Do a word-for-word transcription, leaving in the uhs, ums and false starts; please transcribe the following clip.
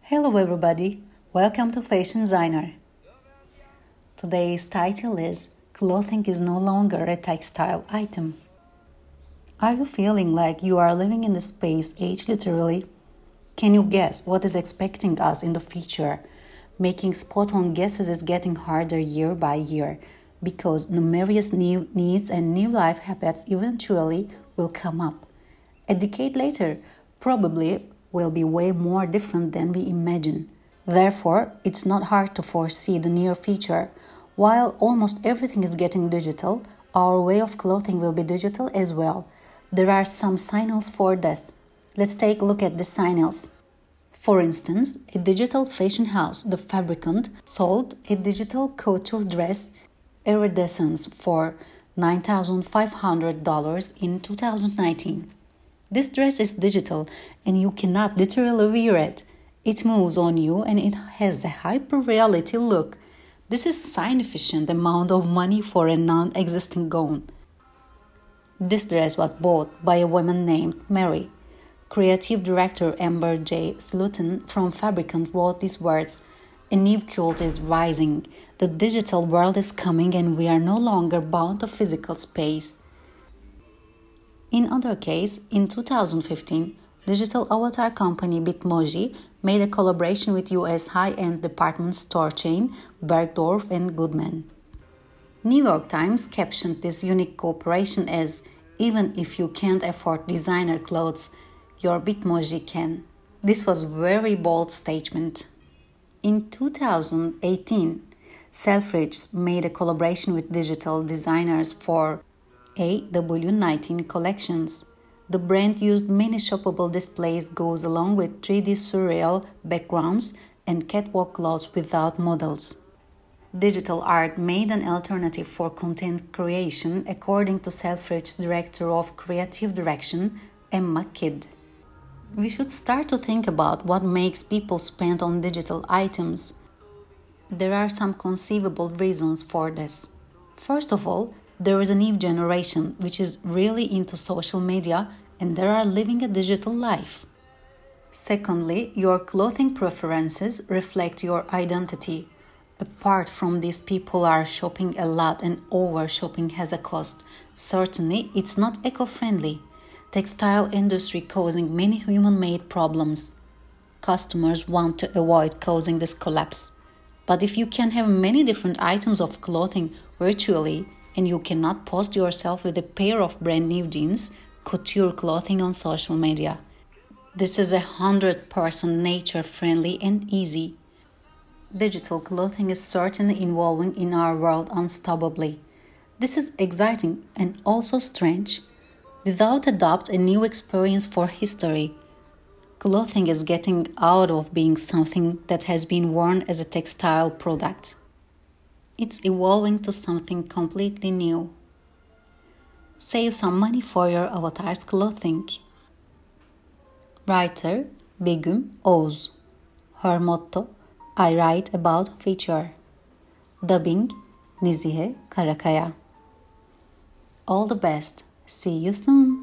Hello everybody, welcome to Fashion Designer. Today's title is Clothing is no longer a textile item. Are you feeling like you are living in the space age literally? Can you guess what is expecting us in the future? Making spot-on guesses is getting harder year by year because numerous new needs and new life habits eventually will come up. A decade later, probably will be way more different than we imagine. Therefore, it's not hard to foresee the near future. While almost everything is getting digital, our way of clothing will be digital as well. There are some signals for this. Let's take a look at the signals. For instance, a digital fashion house, The Fabricant, sold a digital couture dress Iridescence for nine thousand five hundred dollars in two thousand nineteen. This dress is digital and you cannot literally wear it. It moves on you and it has a hyper-reality look. This is significant amount of money for a non-existing gown. This dress was bought by a woman named Mary. Creative director Amber J. Slutton from Fabricant wrote these words: "A new cult is rising. The digital world is coming and we are no longer bound to physical space." In other case, in two thousand fifteen, digital avatar company Bitmoji made a collaboration with U S high-end department store chain Bergdorf and Goodman. New York Times captioned this unique cooperation as, "Even if you can't afford designer clothes, your Bitmoji can." This was a very bold statement. In two thousand eighteen, Selfridges made a collaboration with digital designers for A W nineteen collections. The brand used many shoppable displays goes along with three D surreal backgrounds and catwalk clothes without models. Digital art made an alternative for content creation, according to Selfridges Director of Creative Direction, Emma Kidd. We should start to think about what makes people spend on digital items. There are some conceivable reasons for this. First of all, there is a new generation which is really into social media and they are living a digital life. Secondly, your clothing preferences reflect your identity. Apart from this, people are shopping a lot and over-shopping has a cost. Certainly, it's not eco-friendly. Textile industry causing many human-made problems. Customers want to avoid causing this collapse. But if you can have many different items of clothing virtually and you cannot post yourself with a pair of brand new jeans, couture clothing on social media. This is a hundred percent nature friendly and easy. Digital clothing is certainly evolving in our world unstoppably. This is exciting and also strange. Without a doubt, a new experience for history. Clothing is getting out of being something that has been worn as a textile product. It's evolving to something completely new. Save some money for your avatar's clothing. Writer Begüm Oğuz. Her motto, "I write about future." Dubbing Nizihe Karakaya. All the best. See you soon.